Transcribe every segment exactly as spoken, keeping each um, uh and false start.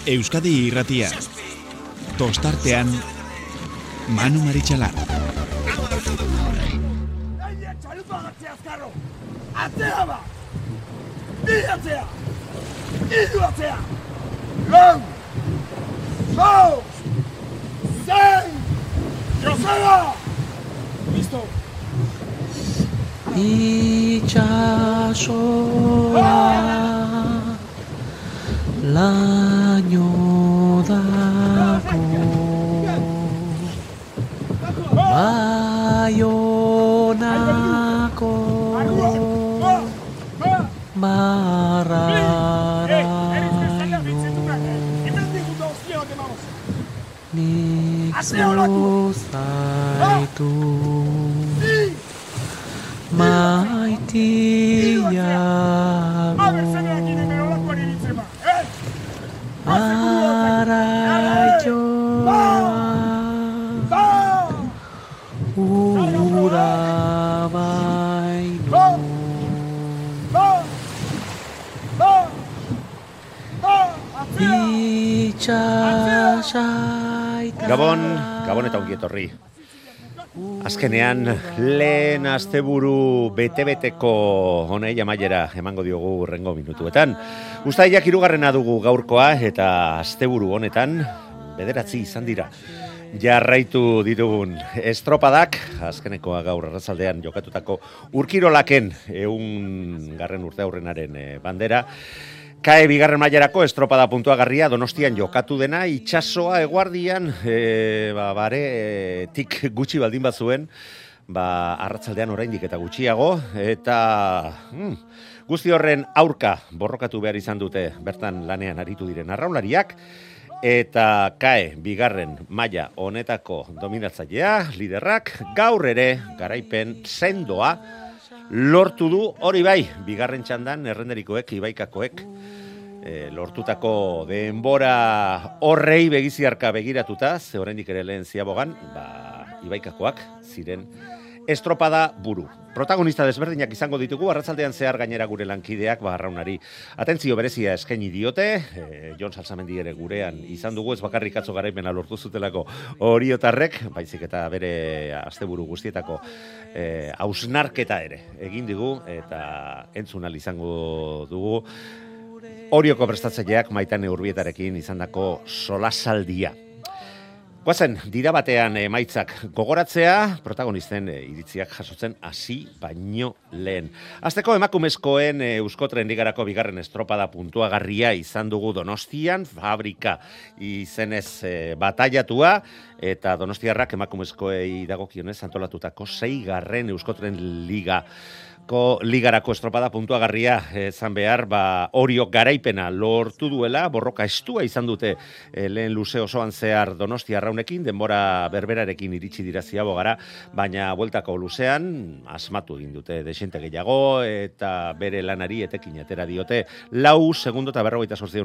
Euskadi Irratia. Tostartean Manu Maritxalar. Atzea ba! Bi atzea! Iru atzea! Lau! Lau! Zein! Joseba! Listo! Itxasoa laino dago Baionako marraraino nik zuzaitu maitiago araioa ura baino itxasaita Gabon, Gabon eta ongi etorri. Azkenean, lehen asteburu bete-beteko honei amaiera emango diogu urrengo minutuetan. Uztailak hirugarrena dugu gaurkoa eta asteburu honetan bederatzi izan dira. Jarraitu ditugun estropadak, azkenekoa gaur arratsaldean jokatutako urkirolaken ehun garren urte aurrenaren bandera. Kae bigarren mailarako estropada puntuagarria Donostian jokatu dena, itxasoa eguardian e, ba, bare e, tik gutxi baldin bat zuen, ba, arratsaldean oraindik eta gutxiago, eta hmm, guzti horren aurka borrokatu behar izan dute bertan lanean aritu diren arraunlariak, eta kae bigarren maila honetako dominatzailea, liderrak, gaur ere garaipen sendoa lortu du, hori bai, bigarren txandan errenderikoek, ibaikakoek, e, lortutako denbora horrei begiziarka begiratuta, ze oraindik ere lehen ziabogan, ba, ibaikakoak ziren estropada buru. Protagonista desberdinak izango ditugu, arratsaldean zehar gainera gure lankideak, ba, arraunari atentzio berezia eskaini diote, e, Jon Salsamendi ere gurean izan dugu, ez bakarrik atzo garaipena lortu zutelako oriotarrek, baizik eta bere asteburu guztietako e, hausnarketa ere egin digu, eta entzunal izango dugu, Orioko prestatzaileak Maitane Urbietarekin izandako solasaldia. Guazen, dira batean emaitzak gogoratzea, protagonisten e, iritziak jasotzen hasi baino lehen. Azteko emakumezkoen e, Euskotren ligarako bigarren estropada puntuagarria izan dugu Donostian, fabrika izenez e, bataiatua, eta donostiarrak emakumezkoei dagokionez antolatutako seigarren Euskotren liga. Ko ligarako estropada puntuagarria izan behar, ba, Oriok garaipena lortu duela, borroka estua izan dute e, lehen luze osoan zehar Donostia arraunekin, denbora berberarekin iritsi dira ziabogara, baina bueltako luzean asmatu egin dute desente gehiago, eta bere lanari etekin atera diote, lau segundo eta berrogeita zortzi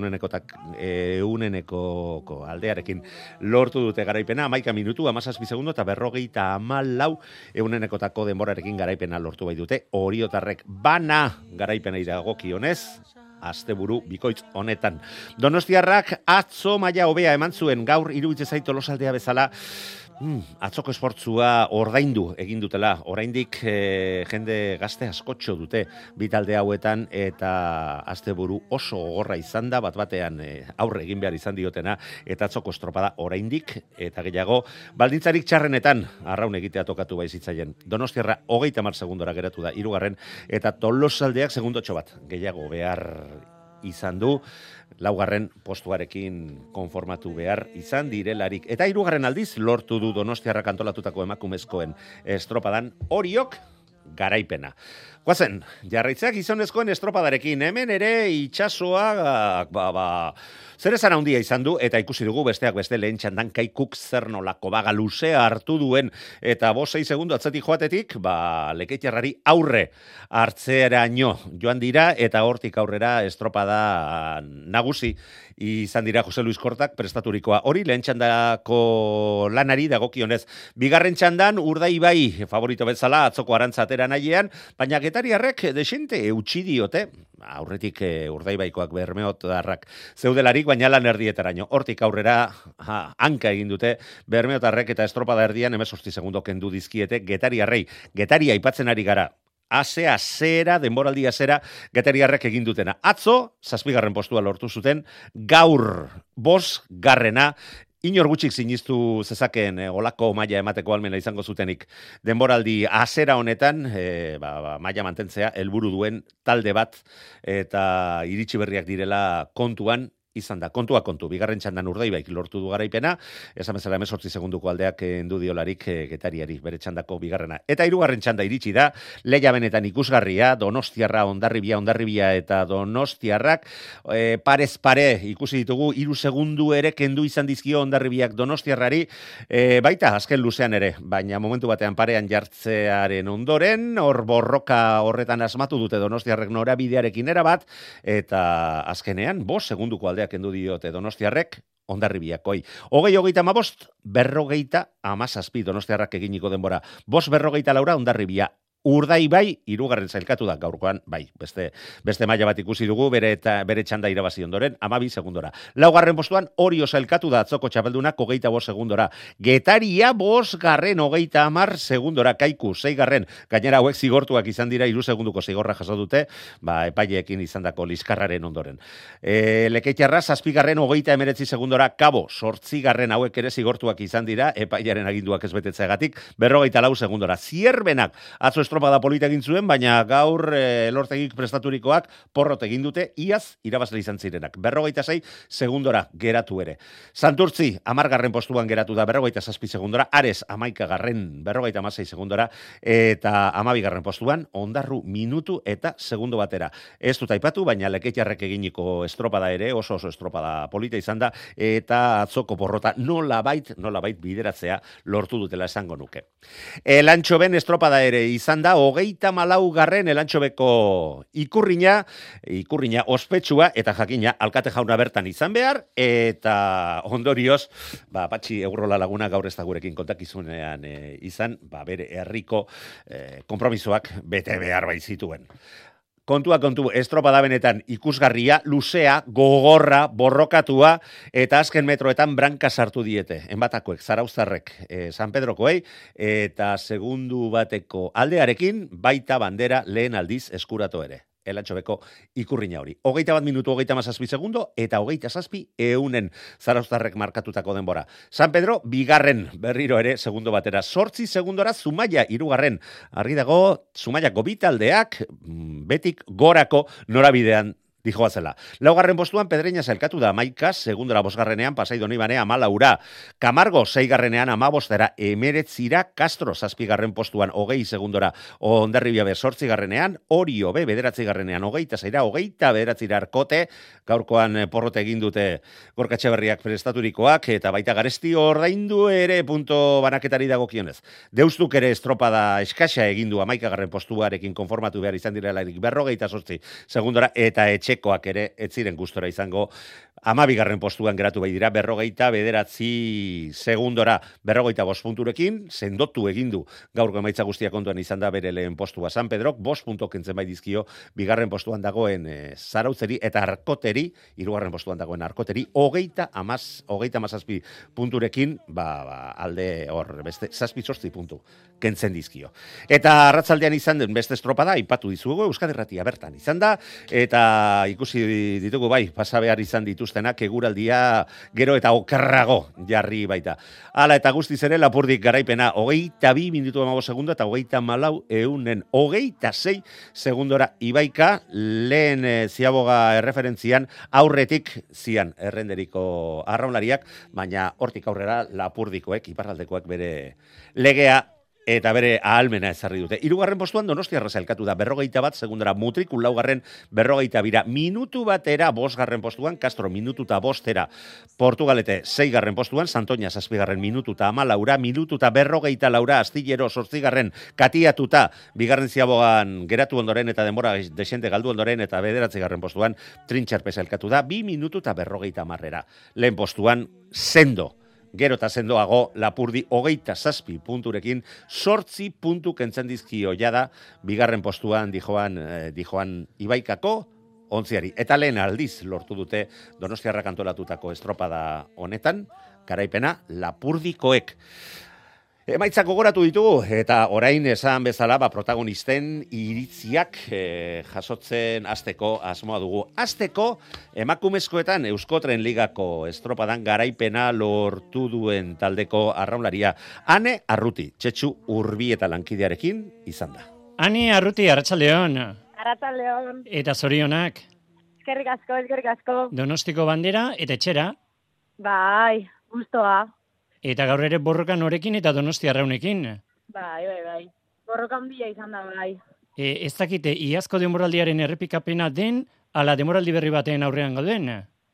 euneneko aldearekin lortu dute garaipena, hamaika minutu, hamazazpi segundo eta berrogeita hamalau eunenekotako denborarekin garaipena lortu bai dute, Oriotarrek bana garaipena dagokionez, asteburu bikoitz honetan. Donostiarrak atzo maila hobea eman zuen, gaur iruditzen zait Tolosaldea bezala, Hmm, atzoko esportzua ordaindu egin dutela, oraindik e, jende gazte askotxo dute bitalde hauetan, eta asteburu oso gogorra izan da, bat batean e, aurre egin behar izan diotena, eta atzoko estropada oraindik, eta gehiago, baldintzarik txarrenetan arraun egitea tokatu bai zitzaien. Donostiarra hogeita hamar segundora geratu da, hirugarren, eta Tolosaldeak segundotxo bat gehiago behar izan du, laugarren postuarekin konformatu behar izan direlarik. Eta hirugarren aldiz lortu du Donostiarrak antolatutako emakumezkoen estropadan Oriok garaipena. Guazen, jarraitzeak gizonezkoen estropadarekin, hemen ere itxasoa, ba, ba, zer esan handia izan du, eta ikusi dugu besteak beste lehen txandan Kaikuk zer nolako baga luzea hartu duen, eta bost sei segundo atzetik joatetik, ba, Lekeitarrari aurre hartzeraino joan dira, eta hortik aurrera estropada nagusi izan dira Jose Luis Kortak prestaturikoa. Hori lehen txandako lanari dagokionez. Bigarren txandan Urdaibai favorito bezala atzoko arantza atera nahiean, baina getariarrek desente eutxi diote aurretik e, Urdaibaikoak bermeotarrak zeudelarik, baina lan erdietaraino. Hortik aurrera ha, hanka egin dute bermeotarrek eta estropada erdian hemezortzi segundo kendu dizkiete Getariarrei. Getaria aipatzen ari gara. Asea zera, denboraldia zera, Getariarrek egin dutena. Atzo, zazpigarren postua lortu zuten, gaur bos garrena, inor gutxik sinistu zezakeen e, olako maila emateko almena izango zutenik. Denboraldi azera honetan, e, ba, ba, maila mantentzea, helburu duen talde bat, eta iritsi berriak direla kontuan, izan da. Kontua kontu, bigarren txandan Urdaibaik lortu du garaipena, esan bezala hemezortzi segunduko aldeak endu diolarik e, Getariari, bere txandako bigarrena. Eta hirugarren txanda iritsi da, leia benetan ikusgarria, Donostiarra, Hondarribia, Hondarribia eta Donostiarrak, e, parez pare ikusi ditugu, hiru segundu ere kendu izan dizkio Hondarribiak Donostiarrari, e, baita azken luzean ere, baina momentu batean parean jartzearen ondoren, hor borroka horretan asmatu dute Donostiarrek norabidearekin erabat, eta azkenean, bost segunduko aldeak kendu diote Donostiarrek Hondarribiakoi. Hogei hogeita amabost, berrogeita amazazpi Donostiarrak eginiko denbora. Bost berrogeita laura Hondarribia. Urdaibai, hirugarren zailkatu da gaurkoan, bai, beste beste maila bat ikusi dugu, bere eta bere txanda irabazi ondoren, hamabi segundora. Laugarren postuan, Orio zailkatu da atzoko txapeldunak hogeita bost segundora. Getaria bost garren hogeita hamar segundora, Kaiku, seigarren, gainera hauek zigortuak izan dira, hiru segunduko zigorra jaso dute, ba, epaileekin izandako liskarraren ondoren. E, Lekeitarra, zazpigarren hogeita emeretzi segundora, Kabo, sortzigarren hauek ere zigortuak izan dira, epailearen aginduak ez betetzeagatik, berrogeita lau segundora. Zierbenak, atzo estropada polita egin zuen, baina gaur e, Elortegik prestaturikoak porrot egin dute, iaz irabazle izan zirenak. Berrogeita sei segundora geratu ere. Santurtzi, amargarren postuan geratu da, berrogeita zazpi segundora, Ares, amaikagarren, berrogeita amasei segundora, eta amabigarren postuan, Ondarru minutu eta segundo batera. Ez dut aipatu, baina Lekeitarrek eginiko estropada ere, oso oso estropada polita izan da, eta atzoko porrota nolabait, nolabait bideratzea lortu dutela esango nuke. Elantxoben estropada ere izan da, hogeita malau garren Elantxobeko ikurrina, ikurrina ospetsua, eta jakina, alkate jauna bertan izan behar, eta ondorioz, ba, Patxi Eurrola Laguna gaur ez da gurekin kontakizunean e, izan, ba, bere herriko e, konpromisoak bete behar baizituen. Kontua kontu, estropada benetan ikusgarria, luzea, gogorra, borrokatua, eta azken metroetan branka sartu diete. Enbatakoek, Zarauztarrek, eh, San Pedrokoei, eta segundu bateko aldearekin, baita bandera lehen aldiz eskuratu ere. Elantxobeko ikurrina hori. Hogeita bat minutu, hogeita mazazpi segundo, eta hogeita zazpi eunen Zarauztarrek markatutako denbora. San Pedro, bigarren berriro ere, segundo batera. Sortzi segundora, Zumaia, irugarren. Argi dago, Zumaiako bitaldeak, betik gorako norabidean dijoa zela. Laugarren postuan Pedreña zailkatu da, Maika, segundora bosgarrenean, Pasai Donibane, amalaura. Camargo, seigarrenean, amabostera, emeretzira, Castro, zazpigarren postuan, hogei segundora, Hondarribia be, sortzigarrenean, Orio be, bederatzigarrenean, hogeita zaira, hogeita bederatzira Arkote, gaurkoan porrote egin dute Gorkatxe Berriak prestaturikoak, eta baita Garesti ordaindu ere punto banaketari dagokionez. Deustuk ere estropada eskasa egindu amaikagarren postuarekin konformatu behar izan direlarik berrogeita sortzi segundora, eta etxekoak ere ez ziren gustora izango amabigarren postuan geratu bai dira, berrogeita bederatzi segundora, berrogeita bost punturekin, sendotu egindu gaurko emaitza guztia kontuan izan da bere lehen postua. San Pedrok bost punto kentzen bai dizkio, bigarren postuan dagoen e, Zarautzeri eta Arkoteri, hirugarren postuan dagoen Arkoteri, hogeita amaz, hogeita amazazpi punturekin, ba, ba, alde hor, beste, zazpi sortzi puntu kentzen dizkio. Eta arratzaldean izan den beste estropada, aipatu dizugu, Euskadi Irratia bertan izan da, eta ikusi ditugu bai, pasa behar izan dituztenak eguraldia gero eta okerrago jarri baita. Hala eta guztiz ere Lapurdik garaipena hogeita bi minutu emago segundo eta hogeita malau eunen hogeita sei segundora Ibaika lehen e, ziaboga erreferentzian aurretik zian errenderiko arraunlariak, baina hortik aurrera Lapurdikoek, iparraldekoek bere legea eta bere ahalmena ezarri dute. Hirugarren postuan Donostiarra zailkatu da, berrogeita bat segundara Mutrikul, laugarren berrogeita bira, minutu batera bosgarren postuan, Castro minututa bostera, Portugalete seigarren postuan, Santoña zazpigarren minututa amalaura, minututa berrogeita laura, Astillero sortzigarren katiatuta, bigarren ziabogan geratu ondoren eta denbora desente galdu ondoren eta bederatzigarren postuan, Trintxarpe zailkatu da, bi minututa berrogeita marrera. Lehen postuan, Sendo. Gero eta sendoago Lapurdi hogeita zazpi punturekin sortzi puntu kentzen dizkio jada, bigarren postuan dijoan, eh, dijoan Ibaikako ontziari. Eta lehen aldiz lortu dute Donostiarrak antolatutako estropada honetan, garaipena Lapurdikoek. Emaitzak gogoratu ditugu, eta orain esan bezala ba, protagonisten iritziak e, jasotzen hasteko asmoa dugu. Hasteko emakumezkoetan Euskotren Ligako estropadan garaipena lortu duen taldeko arraunlaria. Ane Arruti, Txetxu Urbi eta lankidearekin izan da. Ane Arruti, arratsaldeon. Arratsaldeon. Eta zorionak. Eskerrik asko, eskerrik asko. Donostiko bandera eta etxera. Bai, gustoa. Eta gaur ere borroka norekin eta Donosti arraunekin. Bai, bai, bai. Borroka handia izan da, bai. E, ez dakite, iazko denboraldiaren errepikapena den, ala denboraldi berri baten aurrean gauden?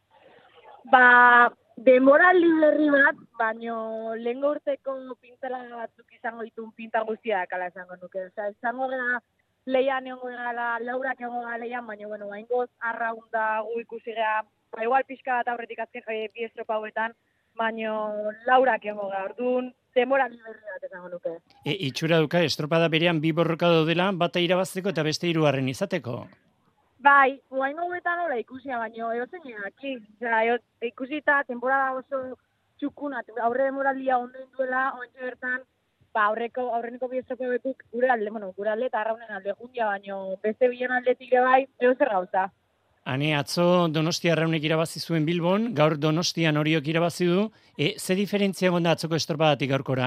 Ba, denboraldi berri bat, baino lehengo urteko pintela batzuk izango ditun pinta guztiak, ala esango nuke. Osa, izango gara leian egongo gara, laurak egongo gara leian, baina, bueno, baingoz, arraunda gu ikusi gara, ba, igual pixka bat aurretik azken e, bi estropa hauetan, baina laurak egongo gara, orduan, denboraldi berri bat esango nuke. E, itxura duka, estropada berean bi borroka daudela, bata irabazteko eta beste hirugarren izateko. Bai, guain hauetan hola ikusia, baina eotzen egaki. Osea, ikusita, temporada oso txukuna, aurre demoraldia onden duela, ointxe bertan, ba, aurreko, aurreneko biestoko bekuk gure alde, bueno, gure alde eta arraunen alde jundia, baina beste bilen aldetik ere bai, eozer gauza. Hane, atzo Donostia arraunek irabazi zuen Bilbon, gaur Donostian Oriok irabazi du, e, ze diferentzia gonda atzoko estropadatik gaurkora?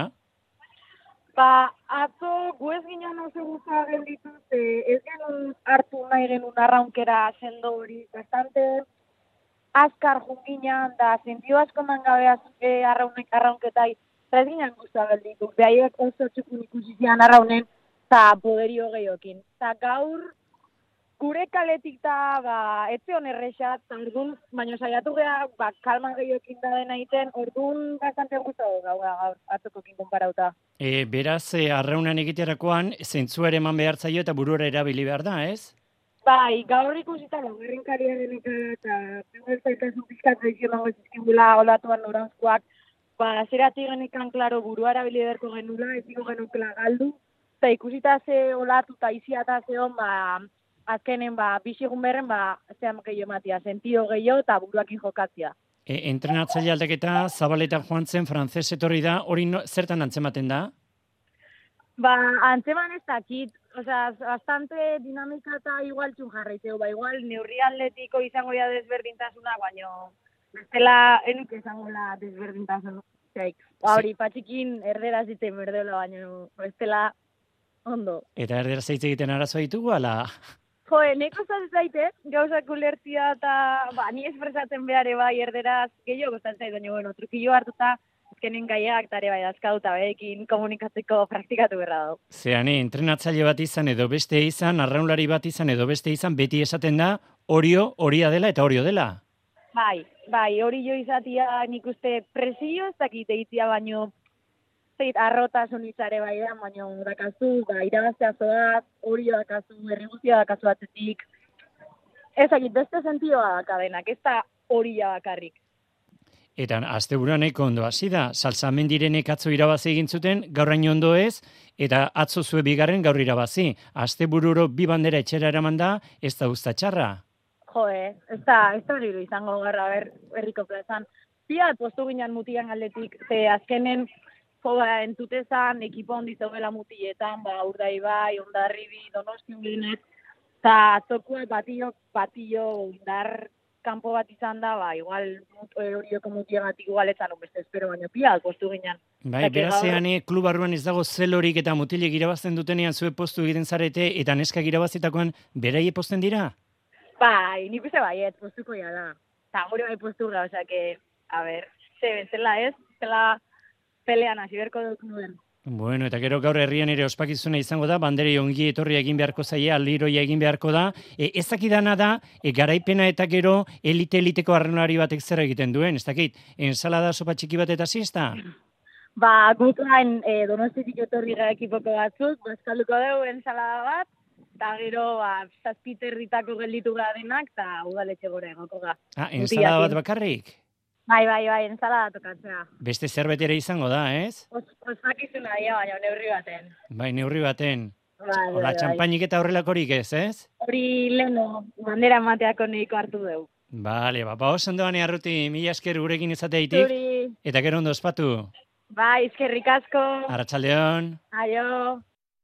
Ba, atzo gu ez ginen oso guza gelditu, ez genuen hartu nahi genuen arraunkera sendo hori, bastante azkar junginan, da sentio asko mangabea e, arraunek arraunketai, eta ez ginen guza gelditu, behaiek oso txukun ikusi zian arraunen, eta poderio gehiokin. Eta gaur, gure kaletik da, ba, etze hon errexat, orduan, baina saiatu geha, ba, kalma gehiokin da dena iten, orduan bastante guztago gau gaur, atzokokin konparauta. E, beraz, e, arraunan egiterakoan, zentzua ere eman behar zaio eta buruara erabili behar da, ez? Bai, gaur ikusita, ba, gerrenkariaren eta pegueltaitasun pizkat zaizionango zizkibula olatuan norantzkoak, ba, zeratik genekan, klaro, burua erabili beharko genula, ez digo genukela galdu, eta ikusita ze olatu eta iziata ze hon, ba, azkenen, ba, bisigun berren, ba, zean gehiago matia, sentio gehiago eta buruakin jokatzia. E, entrenatzaile aldaketa, Zabaletan joan zen, frantzes etorri da, hori no, zertan antzematen da? Ba, antzeman ez dakit, osea, bastante dinamika eta igual txun jarraiteu, ba, igual neurri atletiko izango ya desberdintasuna, baina bestela enuk izango la desberdintasun. Zeik, ba, hori, patxikin erderaz diten berdeola, baina bestela ondo. Eta erderaz hitz egiten arazoa ditugu, ala? Jo, neko zaten zaite, gauzak ulertzia eta, ba, ni espresatzen behare bai erderaz, gehiago gozatzen zaite, baina, bueno, trukillo hartuta, azkenen gaiak, tare bai dazkauta, behekin komunikatzeko praktikatu berra dago. Zeane, entrenatzaile bat izan edo beste izan, arraunlari bat izan edo beste izan, beti esaten da, orio, horia dela eta orio dela. Bai, bai, hori jo izatia nik uste presio ez dakite itzia, baino, zeit, arrotasun itzare bai da, baino, dakazu, ba, irabaztea zoaz, hori dakazu, erriguzia dakazu atzetik. Ez dakit, beste sentioa dakadenak, ez da hori bakarrik. Eta asteburuan nahiko ondo hasi da, Salsamendirenek atzo irabazi egin zuten, gaurraino ondo ez, eta atzo zue bigarren gaur irabazi. Astebururo bi bandera etxera eraman da, ez da usta txarra. Jo, eh, ez da, ez da hori izango garra ber, berriko plazan. Piat, postu ginen mutian aldetik, ze azkenen, jo, ba, entutezan, ekipo handi zegoela mutietan, ba, Urdaibai, Hondarribi, Donosti Unginet, eta atzokua batillo, batillo, indar kanpo bat izan da, ba, igual, horioko mutiagatik igual etzan beste espero, baina piat, postu ginen. Bai, berazean, klub barruan ez dago zelorik eta mutilek irabazten dutenean zue postu egiten zarete, eta neskak irabazitakoan beraie posten dira? Bai, nik uste baiet, postuko ja da. Eta gure bai postu gara, osea, que, a ber, ze bezala ez, zela pelean hasi berko dut nuen. Bueno, eta gero gaur herrian ere ospakizuna izango da, banderi ongi etorri egin beharko zaie, aldiroia egin beharko da. E, ez dakidana da, e, garaipena eta gero elite-eliteko arraunlari batek zer egiten duen, ez dakit, ensalada sopa txiki bat eta zizta? Ba, gutlain e, Donostitik etorri gara ekipoko batzuk, bazkalduko dugu ensalada bat, eta gero, ba, zazpiterritako gelditu gara denak, eta udaletxe gora egoko ga. Ah, ensalada bat bakarrik? Bai, bai, bai, ensalada tokatzea. Beste zerbait ere izango da, ez? Os, ospakizuna dira, baina neurri baten. Bai, neurri baten. Bai, Hola, txampainik eta horrelakorik ez, ez? Hori leno, bandera mateako neiko hartu dugu. Bale, ba, ba oso ondoan arruti, mila esker gurekin izateitik, Zuri, eta gero ondo ospatu. bai, eskerrik asko. Arratsaldeon. Aio.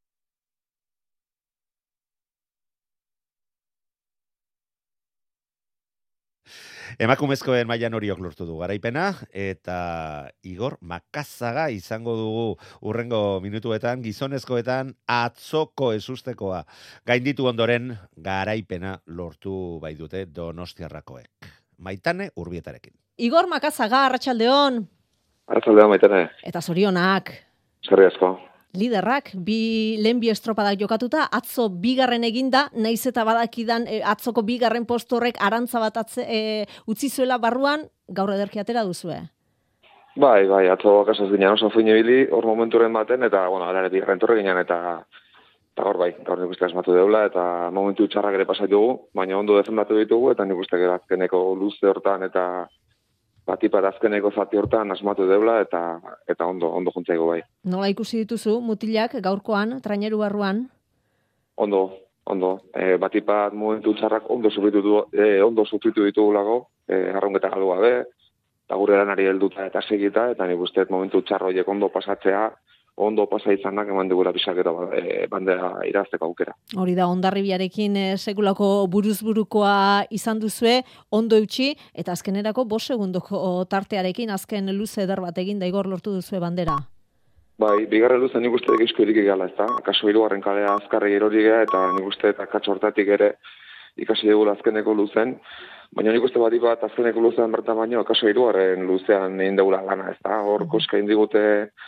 Emakumezkoen mailan horiok lortu du garaipena, eta Igor Makazaga izango dugu urrengo minutuetan, gizonezkoetan atzoko ezustekoa. Gainditu ondoren garaipena lortu bai dute Donostiarrakoek. Maitane Urbietarekin. Igor Makazaga, arratsaldeon. Arratsaldeon, Maitane. Eta zorionak. Eskerrik asko. Liderrak, bi lehen bi estropadak jokatuta, atzo bigarren eginda, naiz eta badakidan e, atzoko bigarren postu horrek arantza bat atze, e, utzi zuela barruan, gaur ederki atera duzue. Bai, bai, atzo kasaz ginen oso fin ibili, hor momenturen baten, eta, bueno, gara bigarren torre ginen, eta eta gaur bai, gaur nik uste asmatu deula, eta momentu txarrak ere pasat dugu, baina ondo defendatu ditugu, eta nik uste gero azkeneko luze hortan, eta batipat azkeneko zati hortan asmatu deula, eta eta ondo, ondo juntzaigo bai. Nola ikusi dituzu, mutilak gaurkoan, traineru barruan? Ondo, ondo. E, batipat momentu txarrak ondo sufritu du, e, ondo sufritu ditugulago, e, arraunketa galdu gabe, eta gure lanari helduta eta segita, eta nik uste momentu txarro horiek ondo pasatzea, ondo pasa izanak eman digula bisakero e, bandera irazteko aukera. Hori da, Hondarribiarekin e, sekulako buruzburukoa izan duzue, ondo eutxi, eta azkenerako bost segundoko tartearekin azken luze eder bat egin da Igor lortu duzue bandera. Bai, bigarren luze nik uste egizko irik egala, ez da? Akaso hirugarren kalea azkarre erori gea, eta nik uste eta akatso hortatik ere ikasi dugula azkeneko luzen, baina nik uste bat bat azkeneko luzean bertan baino, akaso hirugarren luzean egin dugula lana, ez da? Hor koska indigute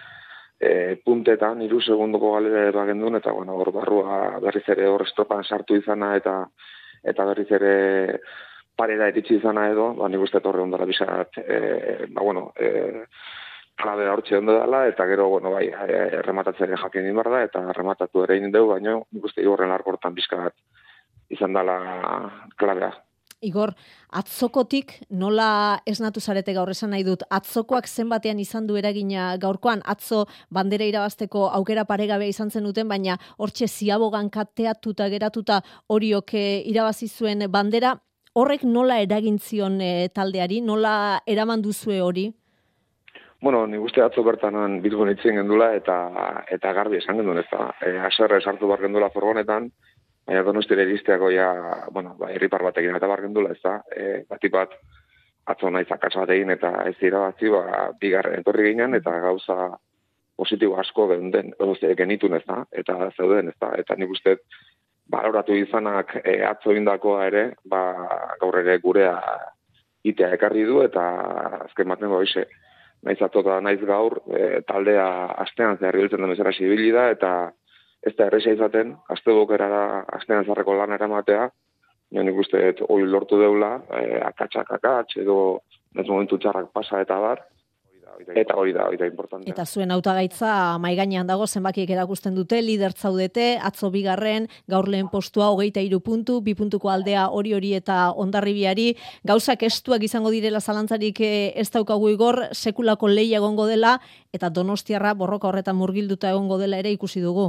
E, puntetan, iru segundoko galera ero gendun, eta bueno, hor barrua berriz ere hor estropan sartu izana, eta eta berriz ere parera eritzi izana edo, ba, nik uste torre ondara bizat, e, ba, bueno, e, klabe hortxe ondo dela, eta gero, bueno, bai, e, rematatzen jakin inbar da, eta rematatu ere egin dugu, baina nik uste igorren larkortan bizkat izan dela klabea. Igor, atzokotik nola esnatu zarete gaur esan nahi dut, atzokoak zenbatean izan du eragina gaurkoan, atzo bandera irabazteko aukera paregabea izan zen duten, baina hortxe ziabogan kateatuta geratuta horiok irabazi zuen bandera, horrek nola eragin zion e, taldeari, nola eraman duzue hori? Bueno, nik uste atzo bertanan Bilbon itzen gendula, eta eta garbi esan gendun ez da. E, aserre sartu bar gendula furgonetan, baina Donostira iristeako ja, bueno, ba, herripar batekin eta bargendula, ez da, e, batik bat atzo naiz akatsa bat egin eta ez irabazi, ba, bigarren etorri ginen, eta gauza positibo asko geunden, genitun, ez da, eta zeuden, ez da, eta nik uste baloratu izanak e, atzo indakoa ere, ba, gaur ere gurea itea ekarri du, eta azken baten goize, naiz atota naiz gaur, e, taldea astean zehar biltzen den bezala zibili da, eta ez da erresa izaten, azte bokerara astean zarreko lan eramatea, nik uste hori lortu deula, e, akatsak akats, edo ez momentu txarrak pasa eta bar, eta hori da, hori da importantea. Eta zuen hautagaitza mahai gainean dago, zenbakiek erakusten dute, lider zaudete, atzo bigarren, gaur lehen postua hogeita hiru puntu, bi puntuko aldea hori hori eta Hondarribiari, gauzak estuak izango direla zalantzarik ez daukagu Igor, sekulako lehia egongo dela, eta Donostiarra borroka horretan murgilduta egongo dela ere ikusi dugu.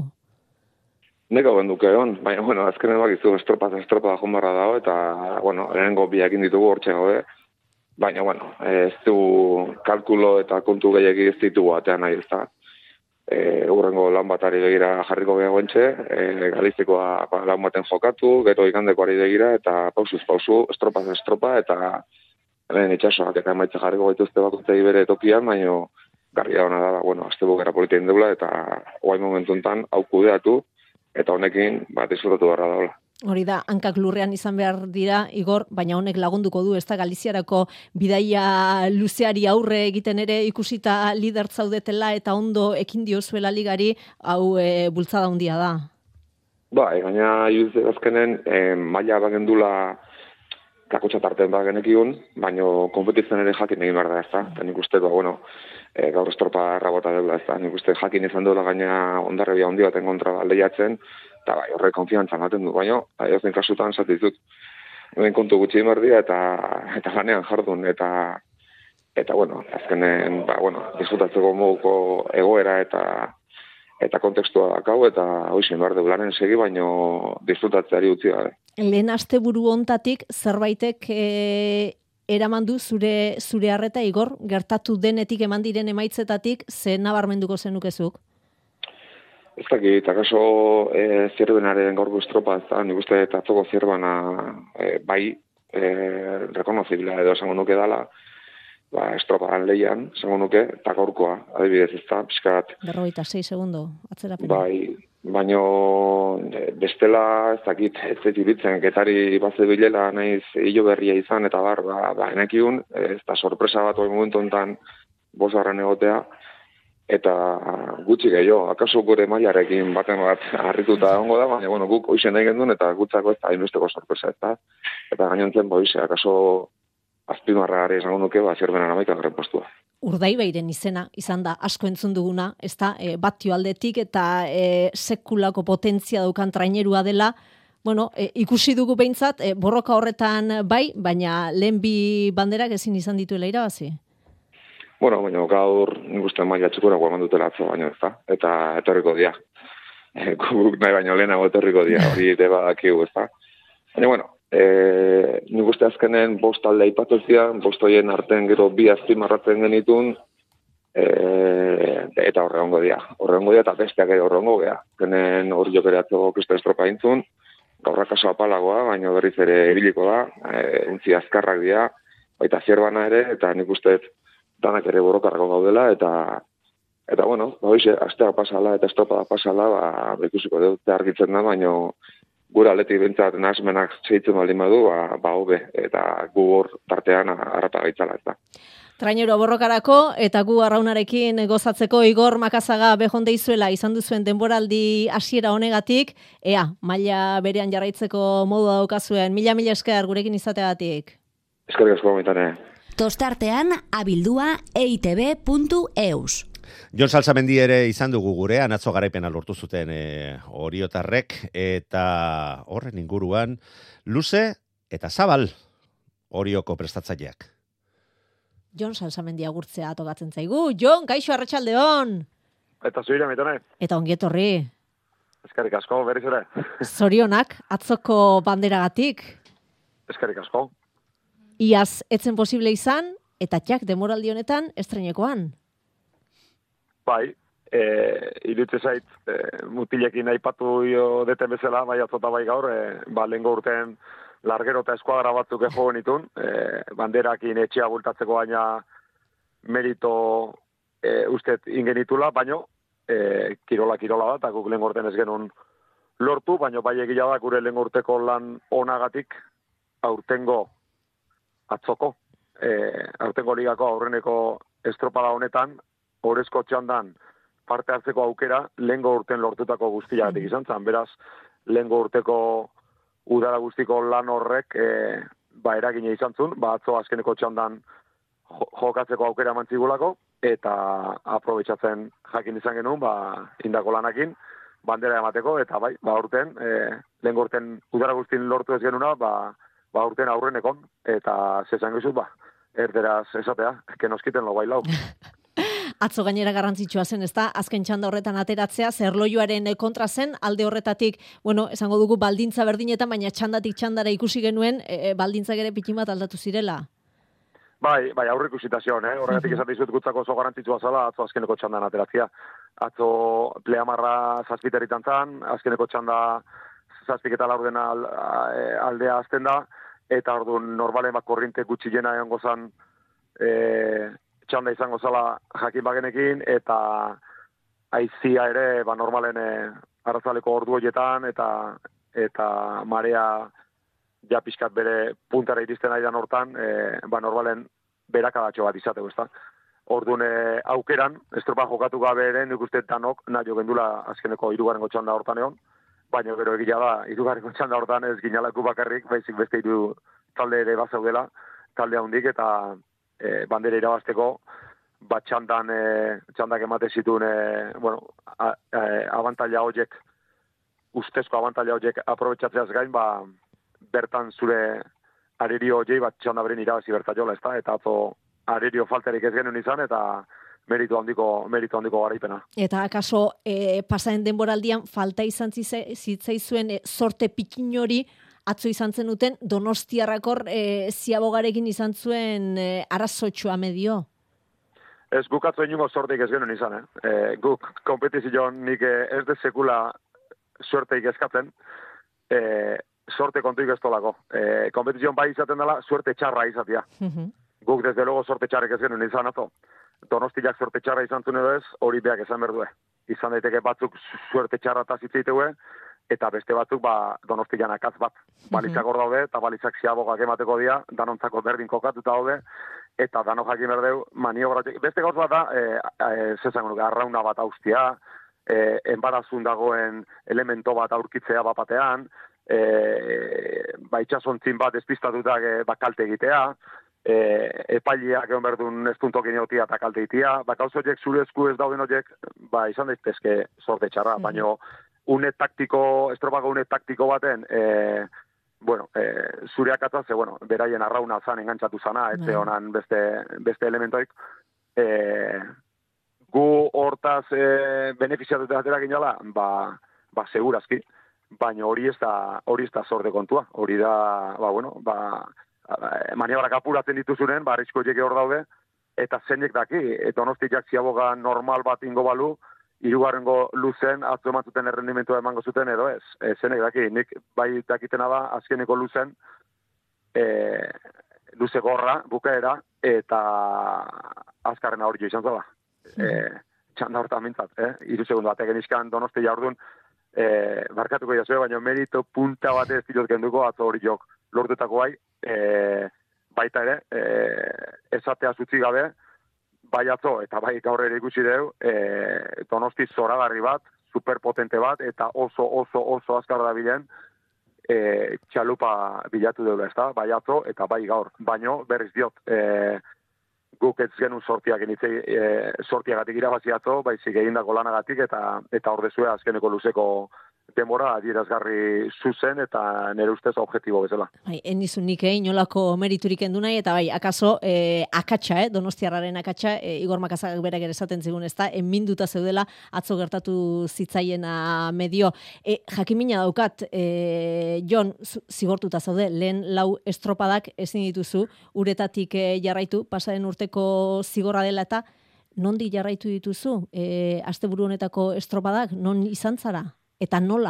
Neko benduke egon, baina, bueno, azkenen bakizu estropa estropa da jonbarra dago, eta, bueno, lehenengo biakin ditugu hortxe gaude, baina, bueno, ez du kalkulo eta kontu gehiagi ez ditugu atean nahi ez da. E, urrengo lan batari begira jarriko gehiago entxe, e, galiztekoa ba, lan baten jokatu, gero ikandekoari begira, eta pausuz pausu, estropa estropa, eta lehen itxasoak eta emaitza jarriko gaituzte bakoitzai bere tokian, baina garria hona da, bueno, azte bukera politia indegula, eta oai momentu enten hau kudeatu, eta honekin bat izurratu barra daula. Hori da, hankak lurrean izan behar dira, Igor, baina honek lagunduko du, ez da Galiziarako bidaia luzeari aurre egiten ere ikusita lider zaudetela eta ondo ekin diozuela ligari, hau e, bultzada handia da. Bai, baina iruditzen azkenen eh, maila bagendula kakotxa tarten bagenekiun, baina konpetitzen ere jakin egin behar da, ez da. Eta nik uste, ba, bueno, e, gaur estropa errabota dela, ez da. Nik uste jakin izan duela gaina Hondarribia handi baten kontra lehiatzen, eta bai, horre konfiantza ematen du, baina, edozen kasutan zatizut, hemen kontu gutxi emerdia, eta, eta lanean jardun, eta, eta bueno, azkenen, ba, bueno, disfrutatzeko moduko egoera, eta, eta kontekstua dakau, eta hoxen behar dugularen segi, baino disfrutatzeari utzi gabe. Lehen asteburu hontatik zerbaitek e, eraman du zure zure harreta Igor, gertatu denetik eman diren emaitzetatik ze nabarmenduko zenukezuk? Ez dakit, akaso e, zierbenaren gaurko estropa, ez da, nik uste eta atzoko zierbana e, bai e, rekonozibila edo esango nuke dala, ba, estropan lehian, esango nuke, eta gaurkoa, adibidez, ez da, pixkat. Berrogeita sei segundo, atzerapena. Bai, baino bestela, ez dakit, ez ez iritzen, getari bat zebilela naiz hilo berria izan, eta bar, ba, ba enekiun, ez da sorpresa bat hori momentu enten bosgarren egotea, eta gutxi gehiago, akaso gure mailarekin baten bat harrituta egongo da, baina bueno, guk hoizen nahi gendun, eta gutzako ez da hainbesteko sorpresa, ez da, eta gainontzen, ba, hoize, akaso azpimarra gari esango nuke, ba, zerbenan amaika garen postua. Urdaibairen izena izan da asko entzun duguna, ez da, e, batio aldetik eta e, sekulako potentzia daukan trainerua dela, bueno, e, ikusi dugu behintzat, e, borroka horretan bai, baina lehen bi banderak ezin izan dituela irabazi. Bueno, baina gaur nik uste maila txukura guaman dutela atzo baino ez da, eta etorriko dia. E, guk nahi baino lehenago etorriko dia, hori ere badakigu ez da. Baina, bueno, e, nik uste azkenen bost alde aipatu zian, bost hoien artean gero bi azpimarratzen genitun, e, eta horregongo dia. Horregongo dia eta besteak ere horregongo gea. Genen hori jokereatzeko kristo estropa intzun, gaurra kaso apalagoa, baina berriz ere ibiliko da, e, untzi azkarrak dia, baita zierbana ere, eta nik uste danak ere borrokarrako gaudela, eta eta bueno, ba hoize, astea pasala eta estropada pasala, ba ikusiko dut argitzen da, baina gure aldetik bentsat nahasmenak zeitzen baldin badu, ba, ba hobe, eta gu hor tartean harrapa gaitzala, ez da. Trainero borrokarako eta gu arraunarekin gozatzeko Igor Makazaga behon deizuela izan duzuen denboraldi hasiera honegatik, ea, maila berean jarraitzeko modu daukazuen, mila mila esker gurekin izateagatik. Eskerrik asko baitane. Tostartean abildua e i te be puntu eus. Jon Salsamendi ere izan dugu gurean, atzo garaipena lortu zuten e, oriotarrek, eta horren inguruan, luze eta zabal orioko prestatzaileak. Jon Salsamendi agurtzea tokatzen zaigu. Jon, kaixo arratsaldeon. Eta zuira, mitone. Eta ongietorri. Eskerrik asko, berriz ere. Zorionak, atzoko banderagatik. Eskerrik asko. Iaz etzen posible izan, eta txak demoraldi honetan estrenekoan. Bai, e, irutze zait, e, mutilekin aipatu jo deten bezala, bai atzota bai gaur, e, ba, lehengo urten largero eta eskuadra batzuk ego genitun, e, banderakin etxea bultatzeko baina merito e, ustet ingenitula, baino e, kirola kirola da, eta guk lehengo urten ez genuen lortu, baino bai egia da gure lehengo urteko lan onagatik aurtengo atzoko, e, aurtengo ligako aurreneko estropada honetan, horrezko txandan parte hartzeko aukera, lehengo urten lortutako guztiagatik izan zen, beraz, lehengo urteko udara guztiko lan horrek, e, ba, eragine izan zuen, ba, atzo azkeneko txandan jokatzeko aukera mantzigulako, eta aprobetxatzen jakin izan genuen, ba, indako lanakin, bandera emateko, eta bai, ba, urten, e, lehengo urten udara guztin lortu ez genuna, ba, ba urten aurrenekon, eta zezan gizut, ba, erderaz esatea, kenoskiten lo bailau. Atzo gainera garrantzitsua zen, ezta? Azken txanda horretan ateratzea, zerloioaren kontra zen, alde horretatik, bueno, esango dugu baldintza berdinetan, baina txandatik txandara ikusi genuen, e, baldintzak ere pikin bat aldatu zirela. Bai, bai, aurre ikusita zion, eh? Horregatik esan dizut gutzako oso garrantzitsua zela, atzo azkeneko txandan ateratzea. Atzo pleamarra zazpiterritan zan, azkeneko txanda zazpik eta laurdena aldea azten da, eta orduan normalen bat korrinte gutxi jena egon gozan e, txanda izango zala jakin bagenekin, eta aizia ere ba, normalen e, arrazaleko ordu horietan, eta, eta marea ja pixkat bere puntara iristen aidan hortan, e, ba, normalen berakadatxo bat izateko, ezta. Orduan e, aukeran, estropa jokatu gabe ere, nik uste danok, nahi jo gendula azkeneko hirugarrengo txanda hortan egon, baina gero egia da, hirugarrengo txanda hortan ez ginalaku bakarrik, baizik beste hiru talde ere bazaudela, talde handik, eta e, bandera irabazteko, bat txandan, e, txandak emate zituen, e, bueno, a, a, abantaila horiek, ustezko abantaila horiek aprobetxatzeaz gain, ba, bertan zure arerio horiei bat txanda beren irabazi bertaiola, ez da, eta atzo arerio falterik ez genuen izan, eta meritu handiko, meritu handiko garaipena. Eta akaso e, pasaren denboraldian falta izan zitzaizuen e, sorte pikin hori atzo izan zenuten Donostiarrakor e, ziabogarekin izan zuen e, arazotxoa medio? Ez guk atzo inungo sorteik ez genuen izan, eh? E, guk kompetizioan nik ez de sekula suerteik eskatzen, e, sorte kontuik ez tolako. E, kompetizioan bai izaten dela, suerte txarra izatea. Uh-huh. Guk desde luego sorte txarrek ez genuen izan ato. Donostiak sorte txarra izan zuen edo ez, hori beak esan berdue. Izan daiteke batzuk suerte txarra eta zitzeitegue, eta beste batzuk ba, Donostian akaz bat. Balizak hor daude, eta balizak ziabogak emateko dia, danontzako berdin kokatuta daude, eta dano jakin berdeu maniobra. Beste gauz bat da, e, e, zezango nuke, arrauna bat austia, e, enbarazun dagoen elemento bat aurkitzea bapatean, e, ba, itxasontzin bat despistatutak e, ba, kalte egitea, e, epaileak egon berdun ez puntokin egotia eta kalte egitea, ba, gauz horiek zure esku ez dauden horiek, ba, izan daitezke sorte txarra, mm-hmm. baino une taktiko, estropako une taktiko baten, e, bueno, e, zureak atzaz, bueno, beraien arrauna zan engantzatu zana, ez honan beste, beste elementoik, e, gu hortaz e, benefiziatuta aterak inala, ba, ba, segurazki, baina hori ez da, hori ez da sorde kontua, hori da, ba, bueno, ba, maniobrak apuratzen dituzunen, ba, arrizko jeke hor daude, eta zeinek daki, eta Donostiak ziaboga normal bat ingo balu, hirugarrengo luzen atzo eman zuten errendimentua emango zuten edo ez. E, zenek daki, nik bai dakitena da azkeneko luzen e, luze gorra, bukaera, eta azkarrena hori jo izan zela. E, txanda hortan mintzat, eh? Iru segundu batek genizkan Donosti jaurdun, e, barkatuko jazue, baina merito punta bate ez dilot genduko atzo hori jok lortutako bai, e, baita ere, e, esatea zutzi gabe, bai atzo, eta bai gaur ere ikusi deu, e, Donosti zoragarri bat, superpotente bat, eta oso, oso, oso azkar da bilen, e, txalupa bilatu deula, ez da, bai atzo, eta bai gaur. Baino, berriz diot, e, guk ez genuen sortiak initzei, e, sortiagatik irabazi atzo, baizik egindako lanagatik, eta eta ordezue azkeneko luzeko denbora adierazgarri zuzen eta nire ustez objektibo bezala. Bai, enizu nik eh, inolako meriturik endu nahi, eta bai, akaso eh, akatsa, eh, Donostiarraren akatsa, eh, Igor Makazak berak ere esaten zigun, ez da, enminduta zeudela, atzo gertatu zitzaiena medio. E, jakimina daukat, e, Jon, zigortuta zaude, lehen lau estropadak ezin dituzu, uretatik eh, jarraitu, pasaren urteko zigorra dela, eta nondi jarraitu dituzu, e, asteburu honetako estropadak, non izan zara? Eta nola?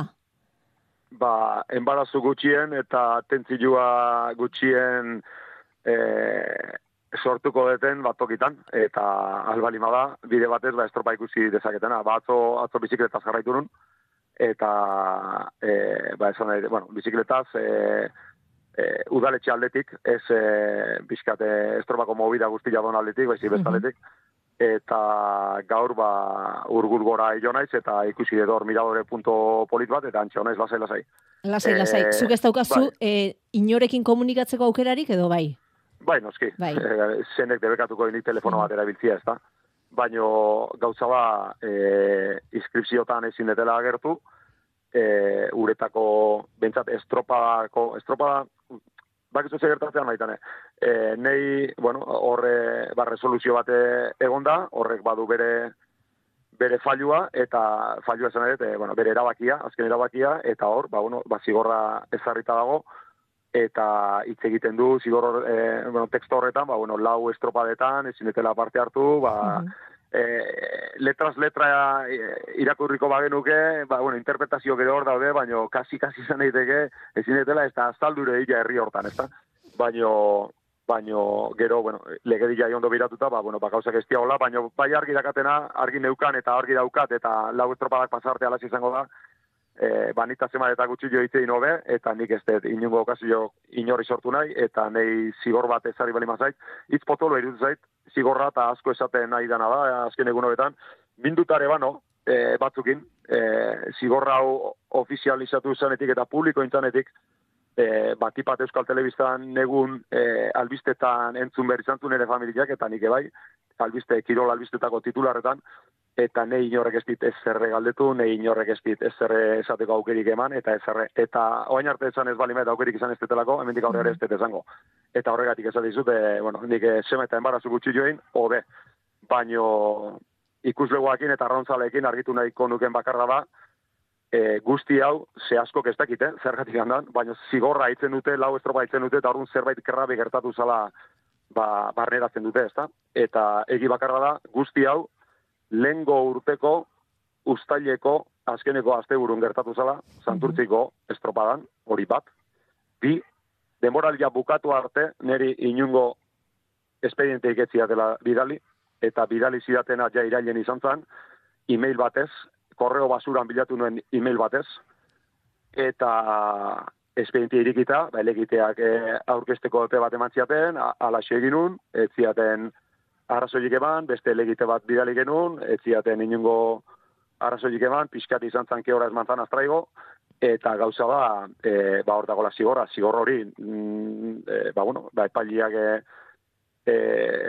Ba, enbarazu gutxien eta tentzilua gutxien e, sortuko deten bat tokitan, eta albalima da, bide batez, ba, estropa ikusi dezaketena. Ba, atzo, atzo bizikletaz jarraitu nun, eta, e, ba, esan nahi, bueno, bizikletaz, e, e, udaletxe aldetik, ez e, bizkate estropako movida guztia don aldetik, baizik bestaldetik, eta gaur ba urgur gora jo naiz eta ikusi edo miradore punto polit bat eta antxe honaiz lasai lasai. Lasai lasai. E, Zuk ez daukazu bai. e, inorekin komunikatzeko aukerarik edo bai? Bai, noski. Bai. E, zenek debekatuko nik telefono bat erabiltzia, ezta. Baino gauza ba e, inskripziotan ezin detela agertu, e, uretako bentsat estropadako estropada bakizu ze gertatzean maitane. E, nei, bueno, horre, ba, resoluzio bate egonda, horrek badu bere bere fallua, eta fallua esan ere, bueno, bere erabakia, azken erabakia, eta hor, ba, bueno, ba, zigorra ezarrita dago, eta hitz egiten du, zigor, e, bueno, teksto horretan, ba, bueno, lau estropadetan, ezin etela parte hartu, ba, uh-huh. E, letras letra irakurriko bagenuke, ba, bueno, interpretazio gero hor daude, baino kasi-kasi izan daiteke ezin etela ez da azaldure illa herri hortan, ez da? Baino, baino gero, bueno, legedilla ondo biratuta, ba, bueno, ba, gauzak ez diagola, baino bai argi dakatena, argi neukan eta argi daukat, eta lau estropadak pasarte alas izango da, e, banita zema eta gutxi jo hitzein hobe, eta nik ez dut inungo okazio inorri sortu nahi, eta nei zigor bat ezari bali mazait, hitz potolo irutu zait, zigorra eta asko esaten nahi dana da, azken egun hobetan, bindutare bano, e, batzukin, e, zigorra hau ofizializatu zanetik eta publiko intzanetik, e, batipat Euskal Telebistan negun e, albistetan entzun behar izan nire familiak, eta nik ebai, albiste, kirol albistetako titularretan, eta nei inorrek ez dit ez zerre galdetu, nei inorrek ez dit ez zerre esateko aukerik eman, eta ez zerre, eta oain arte esan ez balimet aukerik izan ez detelako, hemendik aurrera ez dut esango. Eta horregatik esan dizut, e, bueno, nik sema eta embarazu gutxi join, hobe. baino ikuslegoakin eta arrauntzaleekin argitu nahiko nuken bakarra da, e, guzti hau ze askok ez dakite, zergatik handan, baina zigorra haitzen dute, lau estropa haitzen dute, eta orduan zerbait kerrabe gertatu zala ba, barneratzen dute, ezta? Eta egi bakarra da, guzti hau, lehengo urteko, uztaileko, azkeneko asteburun gertatu zala, Santurtziko estropadan, hori bat. Bi, denboralia bukatu arte, niri inungo espediente iketziatela bidali, eta bidali zidatena ja irailen izan zen, e-mail batez, korreo basuran bilatu nuen e-mail batez, eta espediente irikita, ba, elegiteak e, aurkesteko epe bat eman ziaten, alaxe egin nun, ez ziaten arrazoilik eman, beste elegite bat bidali genuen, ez ziaten inungo arrazoilik eman, pixkat izan zan keora esmantzan astraigo, eta gauza da, e, ba, hor dagoela zigorra, zigor hori, mm, e, ba, bueno, ba, epailiak e, e,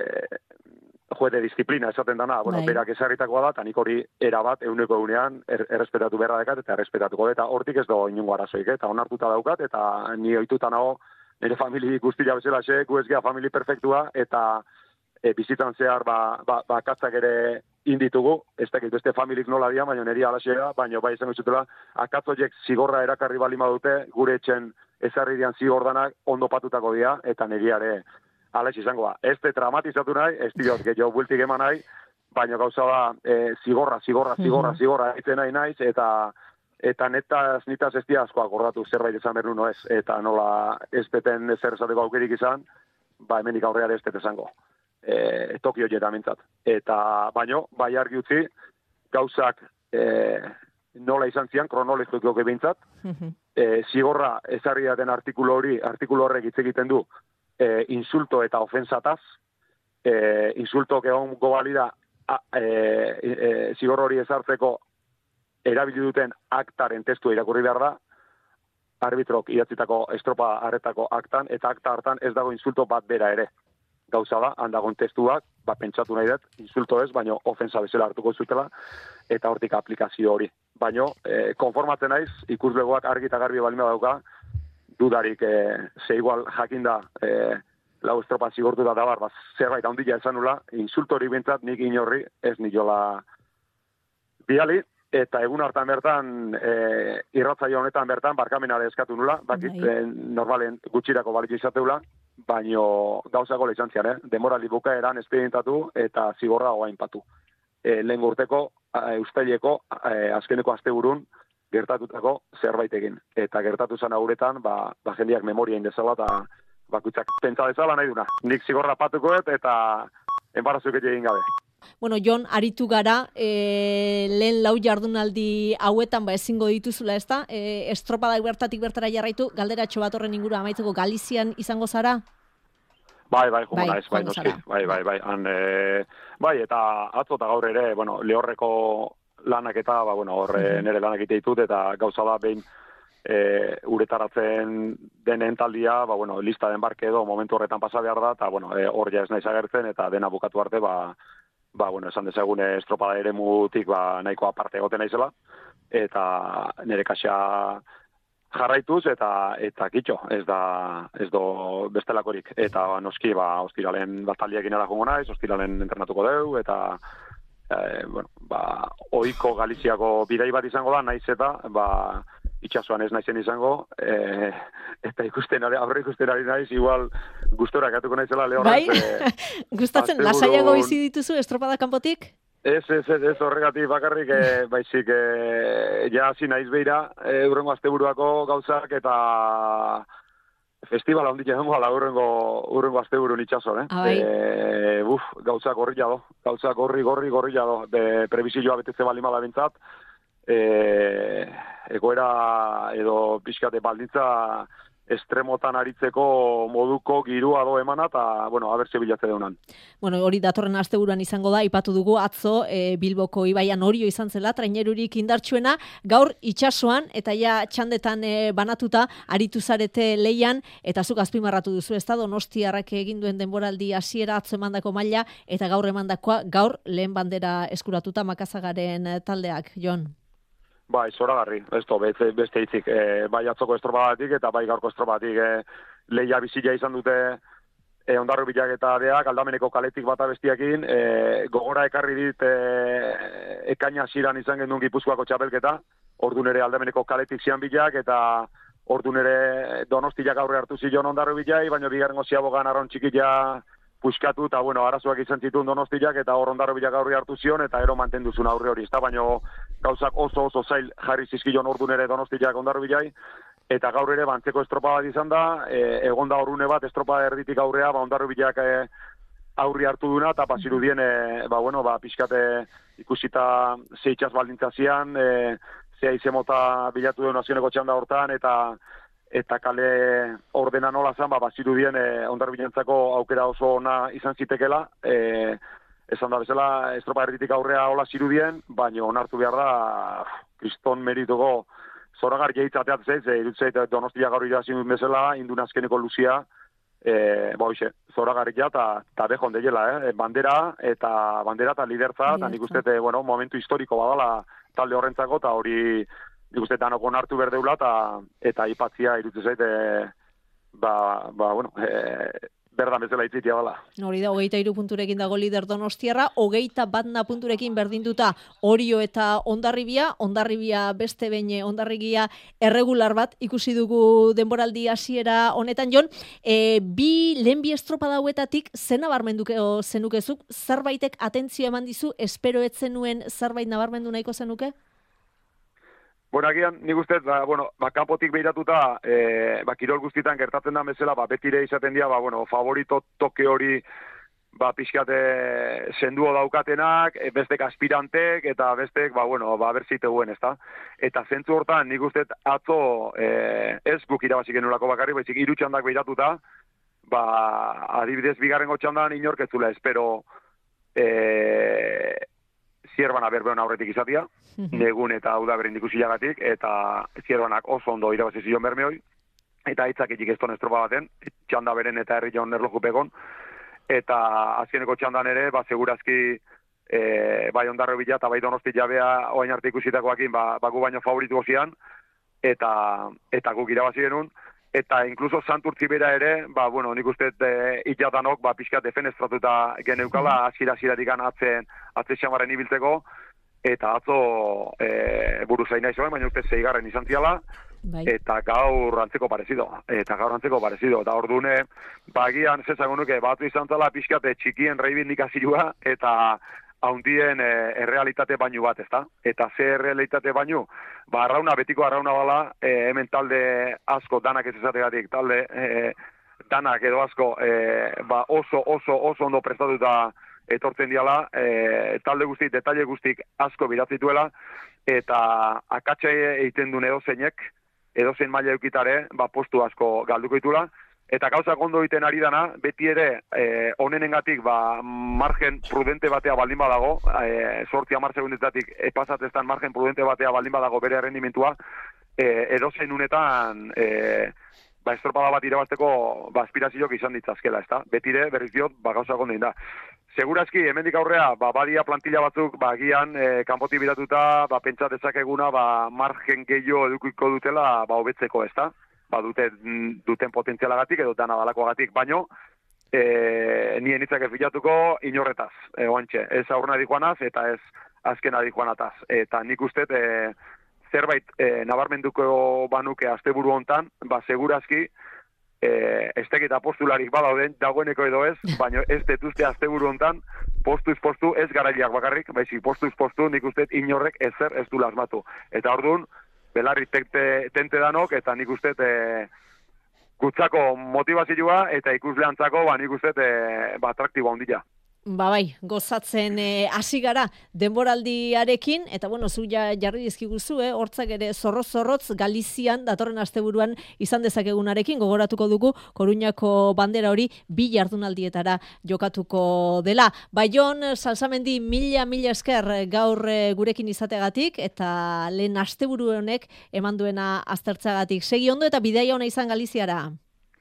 juete disiplina esaten dana, bueno, Bai. berak ezarritakoa da, eta nik hori erabat, euneko eunean, er, errespetatu beharra dekat, eta errespetatuko dut, eta hortik ez do inungo arazoik, eta onartuta daukat, eta ni ohituta nago, nire famili guztia bezala xe, gu ez gea famili perfektua, eta e, bizitan zehar, ba, ba, ba katzak ere inditugu, ez dakit beste familik nola dia, baina niri alaxea, baina bai izango zutela, akatzoiek zigorra erakarri balima dute, gure etxen ezarri dian zigordanak ondo patutako dia, eta niriare alax izango da. Ez te dramatizatu nahi, ez diot, gehiago bueltik eman nahi, baina gauza da, e, zigorra, zigorra, zigorra, zigorra, egiten nahi naiz, eta eta netaz, nitaz ez dia asko akordatu zerbait izan behar no ez, eta nola ez beten zer esateko aukerik izan, ba hemenik aurreare ez bete zango. E, Tokio jeta mintzat. Eta baino, bai argi utzi, gauzak e, nola izan zian, kronologiko bintzat, e, zigorra ezarri daten artikulu hori, artikulu horrek hitz egiten du, e, insulto eta ofensataz, e, insulto egon gobalida e, e, zigor hori ezartzeko erabili duten aktaren testua irakurri behar da, arbitrok idatzitako estropa harretako aktan, eta akta hartan ez dago insulto bat bera ere. Gauza da, handagon testuak, ba, pentsatu nahi dut, insulto ez, baino ofensa bezala hartuko zutela, eta hortik aplikazio hori. Baino, e, konformatzen naiz, ikuslegoak argi eta garbi balima dauka, dudarik, e, ze igual jakinda, e, lau estropa zigortu da dabar, ba, zerbait handia esan nula, insulto hori bintzat nik inorri, ez niola biali, eta egun hartan bertan, e, irratzaio honetan bertan, barkamenare eskatu nula, bakit, e, normalen gutxirako balik izateula, baino gauza gola izan zian, eh? Demorali bukaeran espedientatu eta zigorra oain patu. E, lehen urteko, e, ustaileko, e, azkeneko asteburun, gertatutako zerbait egin. Eta gertatu zan auretan, ba, ba jendiak memoria indezala, eta bakutzak pentsa dezala nahi duna. Nik zigorra patukoet eta enbarazuk egin gabe. Bueno, Jon, aritu gara, e, lehen lau jardunaldi hauetan, ba, ezingo dituzula, ez da? E, estropadak bertatik bertara jarraitu, galderatxo bat horren inguru amaitzeko Galizian izango zara? Bai, bai, jumuna Bai, ez, bai, joango noski, zara. bai, bai, bai, han, e, bai, eta atzo eta gaur ere, bueno, lehorreko lanak eta, ba, bueno, horre nire lanak ite ditut, eta gauza da, behin, e, uretaratzen denen taldia, ba, bueno, lista den barke edo momentu horretan pasa behar da, eta, bueno, e, hor ja ez naiz agertzen, eta dena bukatu arte, ba, ba, bueno, esan dezagun estropada ere mutik, ba, nahiko aparte egoten naizela, eta nire kaxa jarraituz, eta eta kitxo, ez da, ez do bestelakorik, eta noski, ba, ostiralen bataliekin ara jongo naiz, ostiralen entrenatuko deu, eta, e, bueno, ba, oiko Galiziako bidai bat izango da, naiz eta, ba, itxasuan ez naizen izango, e, eta ikusten ari, aurre ikusten ari naiz, igual gustora gatuko naizela lehorrez. Bai? E, Gustatzen, lasaiago bizi dituzu estropada kanpotik? Ez, ez, ez, ez horregatik bakarrik, e, baizik, e, ja hasi naiz beira, e, urrengo asteburuako gauzak, eta festivala ondik egon gala urrengo, urrengo asteburun itxason, eh? Abai. E, buf, gauzak gorri jado, gauzak gorri, gorri, gorri jado, de prebizioa betetze balimala bintzat, e, egoera edo pixkate baldintza estremotan aritzeko moduko girua do emana, eta, bueno, abertze bilatze deunan. Bueno, hori datorren asteburuan izango da, ipatu dugu atzo e, Bilboko ibaian Orio izan zela, trainerurik indartsuena, gaur itsasoan eta ja txandetan e, banatuta aritu zarete leian, eta zuk azpimarratu duzu, ez da, Donostiarrak egin duen denboraldi hasiera atzo emandako maila, eta gaur emandakoa, gaur lehen bandera eskuratuta Makazagaren e, taldeak, Jon. Bai, zoragarri, ez to, beste, beste hitzik, e, bai atzoko estropadatik eta bai gaurko estropadatik e, leia bizila izan dute e, Hondarrubiak eta deak aldameneko kaletik bata bestiakin, e, gogora ekarri dit e, ekaina ziran izan gendun Gipuzkoako txapelketa, ordun ere aldameneko kaletik zian bilak, eta ordun ere Donostiak aurre hartu zion Hondarrubiai, baina bigarrengo ziabogan arron txikia puskatu, eta bueno, arazoak izan zituen Donostiak, eta hor Hondarrubiak aurre hartu zion, eta ero mantenduzun aurre hori, ezta, baina gauzak oso oso zail jarri zizkion ordun ere Donostiak Hondarrubiai, eta gaur ere bantzeko estropa bat izan da, e, egon da horrune bat estropa erditik aurrea, ba, Hondarrubiak e, aurri hartu duna, eta bazirudien, e, ba, bueno, ba, pixkate ikusita zeitxaz baldintzazian, e, zea izemota bilatu duen nazioneko txanda hortan, eta eta kale ordena nola zan, ba, bazirudien e, Hondarrubientzako aukera oso ona izan zitekela, e, esan da bezala estropa erditik aurrea hola zirudien, baina onartu behar da, kriston merituko zoragar jeitzateat zeiz, e, irutzeit Donostia gaur irazin duen bezala, indun azkeneko luzia, e, ba hoxe, zoragarria eta ta bejon deiela, eh? bandera eta bandera eta lidertza, eta nik uste, bueno, momentu historiko badala talde horrentzako, eta hori nik uste danok onartu berdeula, eta eta aipatzia irutzen zait, e, ba, ba, bueno, e, berdan bezala itzitia bala. Hori da, hogeita hiru punturekin dago lider Donostiarra, hogeita batna punturekin berdinduta Orio eta Hondarribia, Hondarribia beste behin Hondarribia erregular bat ikusi dugu denboraldi hasiera honetan, Jon, e, bi lehen bi estropada hauetatik zen nabarmenduke zenukezuk, zerbaitek atentzio eman dizu, espero ez zenuen zerbait nabarmendu nahiko zenuke? Bueno, agian, nik uste, ba, bueno, ba, kanpotik behiratuta, e, ba, kirol guztietan gertatzen da bezala, ba, betire izaten dira, ba, bueno, favorito toke hori, ba, pixkate senduo daukatenak, e, bestek aspirantek, eta bestek, ba, bueno, ba, berzite guen, ezta? Eta zentzu hortan, nik uste, atzo, e, ez guk irabazik genulako bakarrik, baizik irutxandak behiratuta, ba, adibidez, bigarrengo txandan inorketzula, espero, e, zierbana berbeon aurretik izatia, negun eta udaberen ikusilagatik, eta zierbanak oso ondo irabazi zion bermeoi, eta hitzaketik ez ton estropa baten, txanda beren eta herri jaun erlojupegon, eta azkeneko txandan ere, ba, segurazki, e, bai Hondarribia eta bai Donosti jabea oain arte ikusitakoakin, ba, ba gu baino favoritu zian, eta, eta guk irabazi genuen, eta inkluso Santurtzi bera ere, ba, bueno, nik uste e, itatanok, ba, pixka defenestratuta geneukala, azira-aziratik atzen, atze xamarren ibiltzeko, eta atzo e, buru zaina izan, baina uste zeigarren izan ziala, bai. Eta gaur antzeko parezido, eta gaur antzeko parezido, eta ordune, bagian, zezago nuke, batu izan zala pixkate txikien reibindikazioa, eta haundien e, errealitate bainu bat, ezta? Eta ze errealitate bainu, ba, arrauna, betiko arrauna bala, e, hemen talde asko, danak ez ezategatik, talde e, danak edo asko, e, ba, oso, oso, oso ondo prestatuta etortzen diala, e, talde guztik, detalle guztik asko biratzituela, eta akatxe egiten duen edozeinek, edozein maila eukitare, ba, postu asko galduko ditula, eta gauzak ondo egiten ari dana, beti ere, e, onenengatik, ba, margen prudente batea baldin badago, e, sorti hamar segundetatik epasateztan margen prudente batea baldin badago bere rendimentua, e, edozein unetan, e, ba, estropada bat irabazteko, ba, aspirazioak izan ditzazkela, ezta? Betire, berriz diot, ba, gauzak ondo da. Segurazki, hemendik aurrea, ba, badia plantilla batzuk, ba, gian, e, kanpotik biratuta, ba, pentsat ezakeguna, ba, margen gehiago edukiko dutela, ba, hobetzeko, ezta? Ba, dute, duten potentzialagatik edo dana dalakoagatik, baino, e, nien hitzak ez bilatuko inorretaz, e, oantxe, ez aurrena dikoanaz, eta ez azkena dikoanataz. Eta nik uste, e, zerbait e, nabarmenduko banuke asteburu hontan, ba, segurazki, e, ez teketa postularik badauden, dagoeneko edo ez, baina ez detuzte asteburu hontan, postuz postu, ez garaileak bakarrik, baizik postuz postu, nik uste inorrek ezer ez du lasmatu. Eta orduan, belarri tente, tente danok, eta nik uste e, gutzako motivazioa, eta ikusleantzako, ba, nik uste e, ba, atraktiboa ondila. Ba bai, gozatzen hasi gara denboraldiarekin, eta bueno, zu ja, jarri dizkiguzu, eh? Hortzak ere zorroz-zorrotz Galizian datorren asteburuan izan dezakegunarekin, gogoratuko dugu Koruñako bandera hori bi jardunaldietara jokatuko dela. Bai, Jon Salsamendi, mila mila esker gaur gurekin izategatik, eta lehen asteburu honek eman duena aztertzagatik. Segi ondo eta bidaia ona izan Galiziara.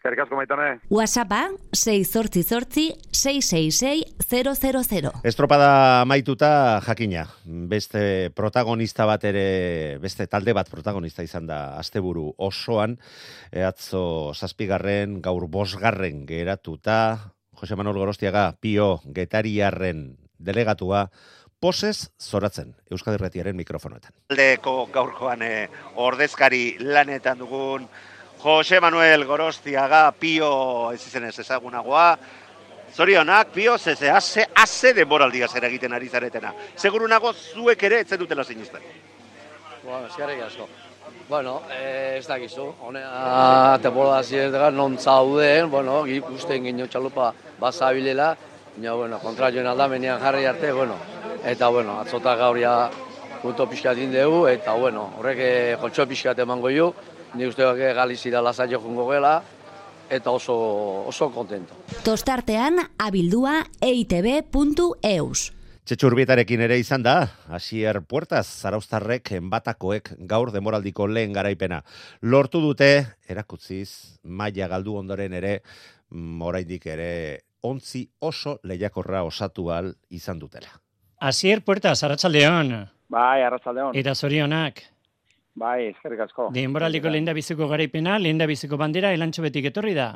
Eskerrik asko maitane. WhatsAppa sei zortzi zortzi sei sei sei zero zero zero. Estropada maituta jakina, beste protagonista bat ere, beste talde bat protagonista izan da asteburu osoan, e, atzo zazpigarren, gaur bosgarren geratuta, Jose Manuel Gorostiaga, Pio Getariarren delegatua, posez zoratzen Euskadi Irratiaren mikrofonoetan. Taldeko gaurkoan eh, ordezkari lanetan dugun Jose Manuel Gorostiaga, Pio ez izenez ezagunagoa. Zorionak, Pio, zeze, haze, haze denboraldia zer egiten ari zaretena. Seguru nago zuek ere etzen dutela zinuzten. Bueno, eskerrik asko. Bueno, eh, ez dakizu, honea temporada ziretegan non zauden, bueno, ikusten gino txalupa bazabilela, baina, bueno, kontra joan aldamenean jarri arte, bueno, eta, bueno, atzota gauria punto pixkat indegu, eta, bueno, horrek joltxo pixkat emango ju, ni uste bake Galizira lasaio jungo gela, eta oso, oso kontento. Tostartean abildua e i te be puntu eus. Txetxurbietarekin ere izan da, Asier Puertas, zarauztarrek enbatakoek gaur demoraldiko lehen garaipena. Lortu dute, erakutziz, maila galdu ondoren ere, oraindik ere, ontzi oso lehiakorra osatu ahal izan dutela. Asier Puertas, arratsaldeon. Bai, arratsaldeon. Eta zorionak. Bai, eskerrik asko. Denboraldiko lehenda biziko garaipena, lehenda biziko bandera, elantxo betik etorri da?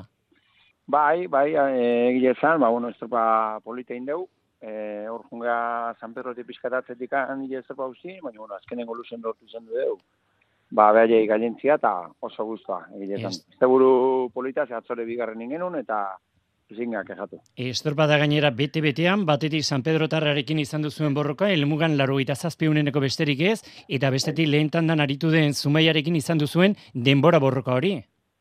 Bai, bai, egile zan, ba, bueno, estropa politein deu, hor e, junga San Pedrotik pizkatatzetik egile estropa hauzi, baina, bueno, azkenengo luzen lortu zen du deu. Ba, behaiei gailentzia eta oso guztua egile zan. Este buru polita, ze atzore bigarren ingenun, eta zingak ejatu. Estropada gainera bete-betean, batetik San Pedro Tarrarekin izan duzuen borroka, helmugan laurogeita zazpi uneneko besterik ez, eta bestetik lehen tandan aritu den Zumaiarekin izan duzuen denbora borroka hori.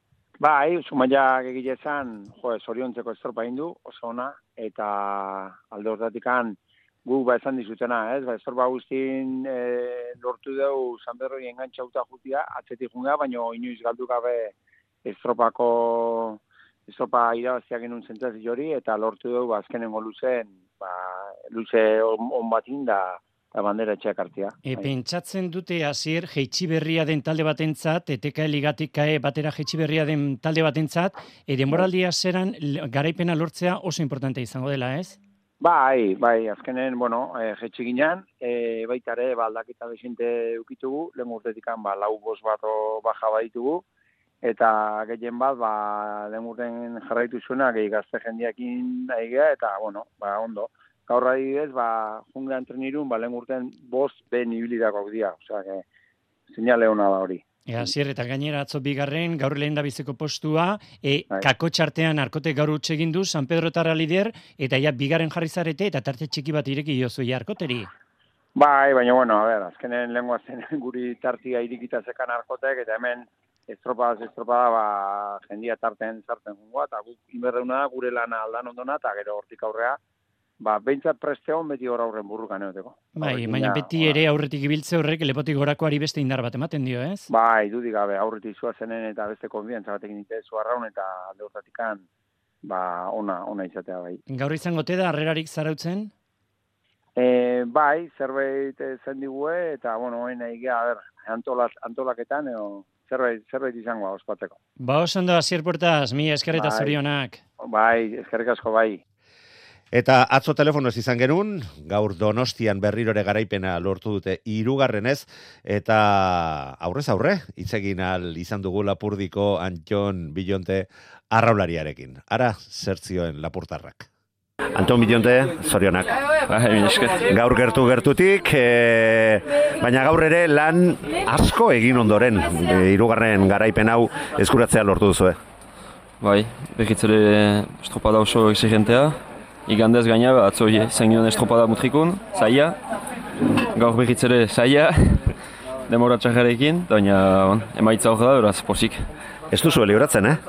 Bai, Zumaiak egile zan, jo, zoriontzeko estropa indu, oso ona, eta alde horretikan guk ba esan dizutena, ez? Ba, estropa guztin e, lortu dugu San Pedro engantxauta jutia, atzetik junga, baina inoiz galdu gabe estropako estropa irabaziak genuen zentzazi hori, eta lortu dugu azkenengo luzen, ba, luze on, on batin da, da bandera etxeak hartia. E, pentsatzen dute Asier jeitsi berria den talde batentzat, E T K ligatik kae batera jeitsi berria den talde batentzat, e, denboraldia zeran garaipena lortzea oso importante izango dela, ez? Bai, bai, azkenen, bueno, e, jetxi ginen, e, baita ere, ba, aldaketa desinte ukitugu, lehen urtetikan, ba, lau bos bat baja baditugu, eta gehien bat, ba, lehen urten jarraitu zuena, gehi gazte jendiakin aigea, eta, bueno, ba, ondo. Gaur adibidez, ba, junga entrenirun, ba, lehen urten bost ben ibilidakoak dira, osea, que, zinale hona da hori. Ea, Asier, eta gainera atzo bigarren, gaur lehen da biziko postua, e, kako txartean arkote gaur utxegin du, San Pedro Tarra lider, eta ja bigarren jarri zarete, eta tarte txiki bat ireki jozu ja arkoteri. Bai, baina, bueno, a ber, azkenen lengua zen guri tartia irikita zekan arkotek, eta hemen estropada, estropada, ba, jendia tarten zarten jungoa, eta guk inberreuna da, gure lana aldan ondona, eta gero hortik aurrea, ba, behintzat presteon beti hor aurren burrukan eoteko. Bai, baina beti ere aurretik ibiltze horrek lepotik gorakoari beste indar bat ematen dio, ez? Bai, dudik gabe, aurretik zua zenen eta beste konfiantza batekin ite zuarraun eta alde hortatikan, ba, ona, ona izatea bai. Gaur izango te da, harrerarik zarautzen? E, bai, zerbait zen digue, eta, bueno, hoen egea, a ber, antolak, antolaketan, edo, zerbait, zerbait izango ospatzeko. Ba, oso ondo, Asier Puertas, mi eskerreta bai, zorionak. Bai, eskerrik asko bai. Eta atzo telefonoz izan genuen, gaur Donostian berrirore garaipena lortu dute hirugarrenez, eta aurrez aurre, itzegin al izan dugu Lapurdiko Anton Bilonte arraulariarekin. Ara, zertzioen Lapurtarrak. Anton Bilonte, zorionak. Gaur gertu gertutik, e, baina gaur ere lan asko egin ondoren, e, hirugarren garaipen hau eskuratzea lortu duzu. Bai, behitzere estropada oso exigentea. Igandez gaina, atzo izan ginen estropada mutrikun, zaila. Gaur behitzere zaila, demora txajarekin, baina emaitza hor da, beraz, posik. Ez duzu libratzen, eh?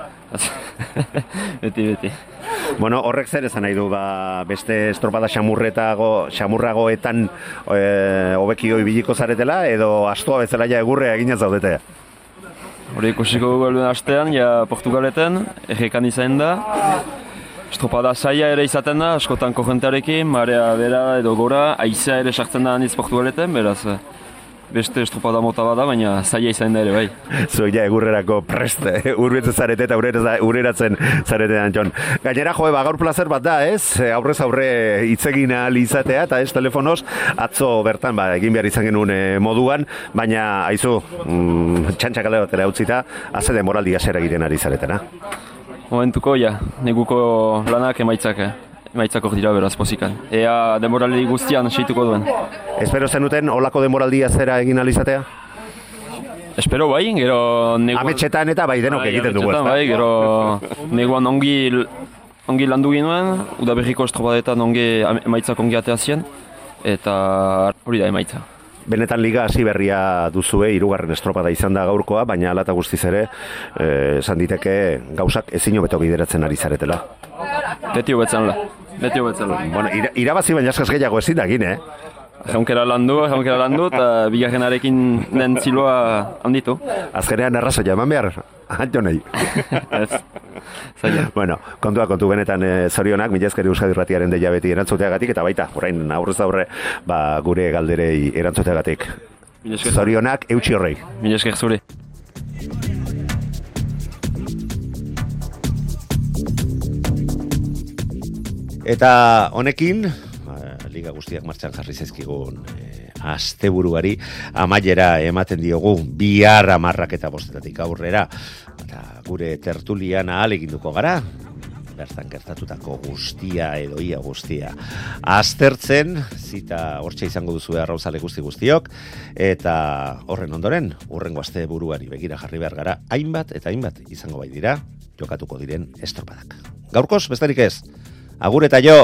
beti, beti. Bueno, horrek zer esan nahi du, ba, beste estropada xamurretago, xamurragoetan hobekio e, ibiliko zaretela, edo astoa bezala ja egurrea eginez zaudete? Hori ikusiko dugu eluen astean, ja Portugaleten, errekan izan da. Estropada zaila ere izaten da, askotan korrentearekin, marea bera edo gora, aizea ere sartzen da handiz Portugaleten, beraz, beste estropada mota bada, baina zaila izan da ere, bai. Zuek ja egurrerako preste, urbiltzen zarete eta urreratzen zarete Antxon. Gainera, joe, ba, gaur plazer bat da, ez? Aurrez aurre hitzegin ahal izatea, eta ez telefonoz, atzo bertan, ba, egin behar izan genuen eh, moduan, baina, aizu, mm, txantxakale batera utzita, azede moraldia zer egiten ari zaretena. Momentuko, ja, neguko lanak emaitzak, eh? Emaitzak hor dira beraz pozikan. Ea demoraldi guztian seituko duen. Espero zenuten olako demoraldia zera egin alizatea? Espero bai, gero... Neguan... Ametxetan eta bai denok egiten dugu, ez da? Bai, gero neguan ongi, ongi landu ginoen, udaberriko estropadetan ongi emaitzak ongi atea zien, eta hori da emaitza. Benetan liga hasi berria duzue, hirugarren estropada izan da gaurkoa, baina hala eta guztiz ere, esan diteke gauzak ezin hobeto bideratzen ari zaretela. Beti hobetzen la, beti hobetzen la. Bueno, ira, irabazi baina askaz gehiago ezin da egin, eh? Jaunkera landu, jaunkera landu, eta bigarrenarekin den ziloa handitu. Azkenean arrazoia eman behar, hanto nahi. Bueno, kontua kontu benetan e, zorionak, mila esker Euskadi Irratiaren deia beti erantzuteagatik, eta baita, orain aurrez aurre, ba, gure galderei erantzuteagatik. Zorionak, eutxi horrei. Mila esker zure. Eta honekin, liga guztiak martxan jarri zaizkigun e, asteburuari amaiera ematen diogu bihar hamarrak eta bostetatik aurrera, eta gure tertulian ahaleginduko gara bertan gertatutako guztia edo ia guztia aztertzen, zita hortxe izango duzue arrauzale guzti guztiok, eta horren ondoren hurrengo asteburuari begira jarri behar gara, hainbat eta hainbat izango bai dira jokatuko diren estropadak. Gaurkoz, besterik ez, agur eta jo!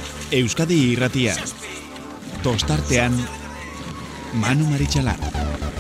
Euskadi Irratia. Tostartean Manu Maritxalar.